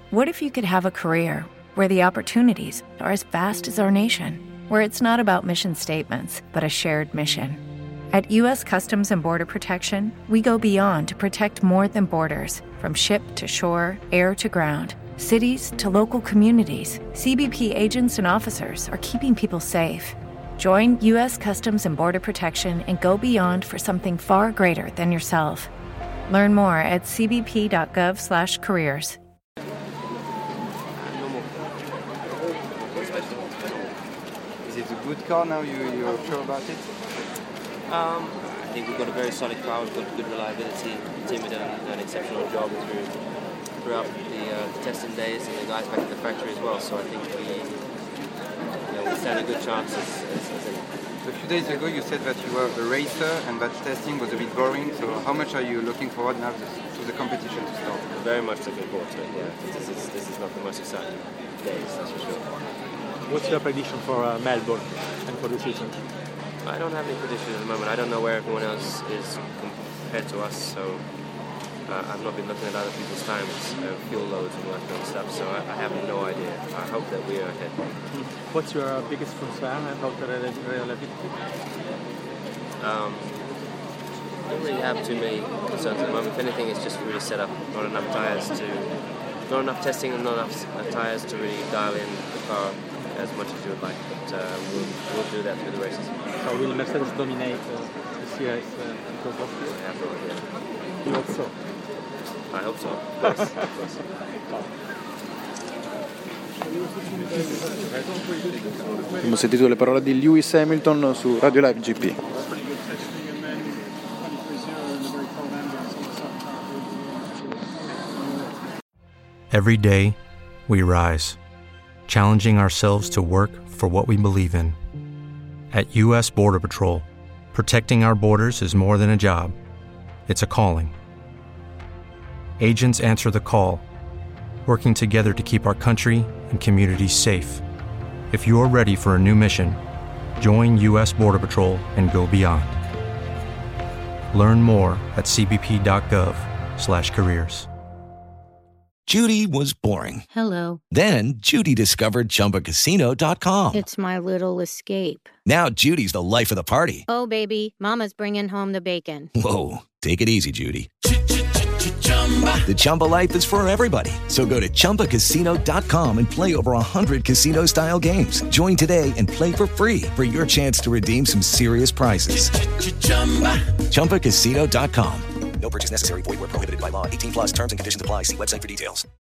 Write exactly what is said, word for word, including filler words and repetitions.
What if you could have a career where the opportunities are as vast as our nation, where it's not about mission statements, but a shared mission? At U S Customs and Border Protection, we go beyond to protect more than borders. From ship to shore, air to ground, cities to local communities, C B P agents and officers are keeping people safe. Join U S Customs and Border Protection and go beyond for something far greater than yourself. Learn more at cbp.gov slash careers. Is it a good car now? You, you're sure about it? Um, I think we've got a very solid car, we've got good reliability. The team have done an exceptional job through, throughout the, uh, the testing days, and the guys back at the factory as well. So I think we, you know, we stand a good chance as, as, as a... A few days ago you said that you were a racer and that testing was a bit boring. So how much are you looking forward now to, to the competition to start? Very much looking forward to it, yeah. This is, this is not the most exciting days, that's for sure. What's your prediction for uh, Melbourne and for the season? I don't have any prediction at the moment. I don't know where everyone else is compared to us, so uh, I've not been looking at other people's times, uh, fuel loads and all that kind of stuff, so I, I have no idea. I hope that we are ahead. What's your uh, biggest concern about the reliability? Um, I don't really have too many concerns at the moment. If anything, it's just really set up. Not enough tyres to, not enough testing and not enough uh, tyres to really dial in the car as much as you would like. But uh, we'll, we'll do that through the races. So will Mercedes dominate uh, this year uh, because of I have no idea. You hope so? I hope so. Of course. Of course. Abbiamo sentito le parole di Lewis Hamilton su Radio Live G P. Every day, we rise, challenging ourselves to work for what we believe in. At U S Border Patrol, protecting our borders is more than a job. It's a calling. Agents answer the call, working together to keep our country and communities safe. If you're ready for a new mission, join U S Border Patrol and go beyond. Learn more at cbp.gov slash careers. Judy was boring. Hello. Then Judy discovered Chumba Casino dot com. It's my little escape. Now Judy's the life of the party. Oh, baby, mama's bringing home the bacon. Whoa, take it easy, Judy. The Chumba life is for everybody. So go to chumba casino dot com and play over one hundred casino-style games. Join today and play for free for your chance to redeem some serious prizes. chumba casino dot com. No purchase necessary. Void where prohibited by law. eighteen plus terms and conditions apply. See website for details.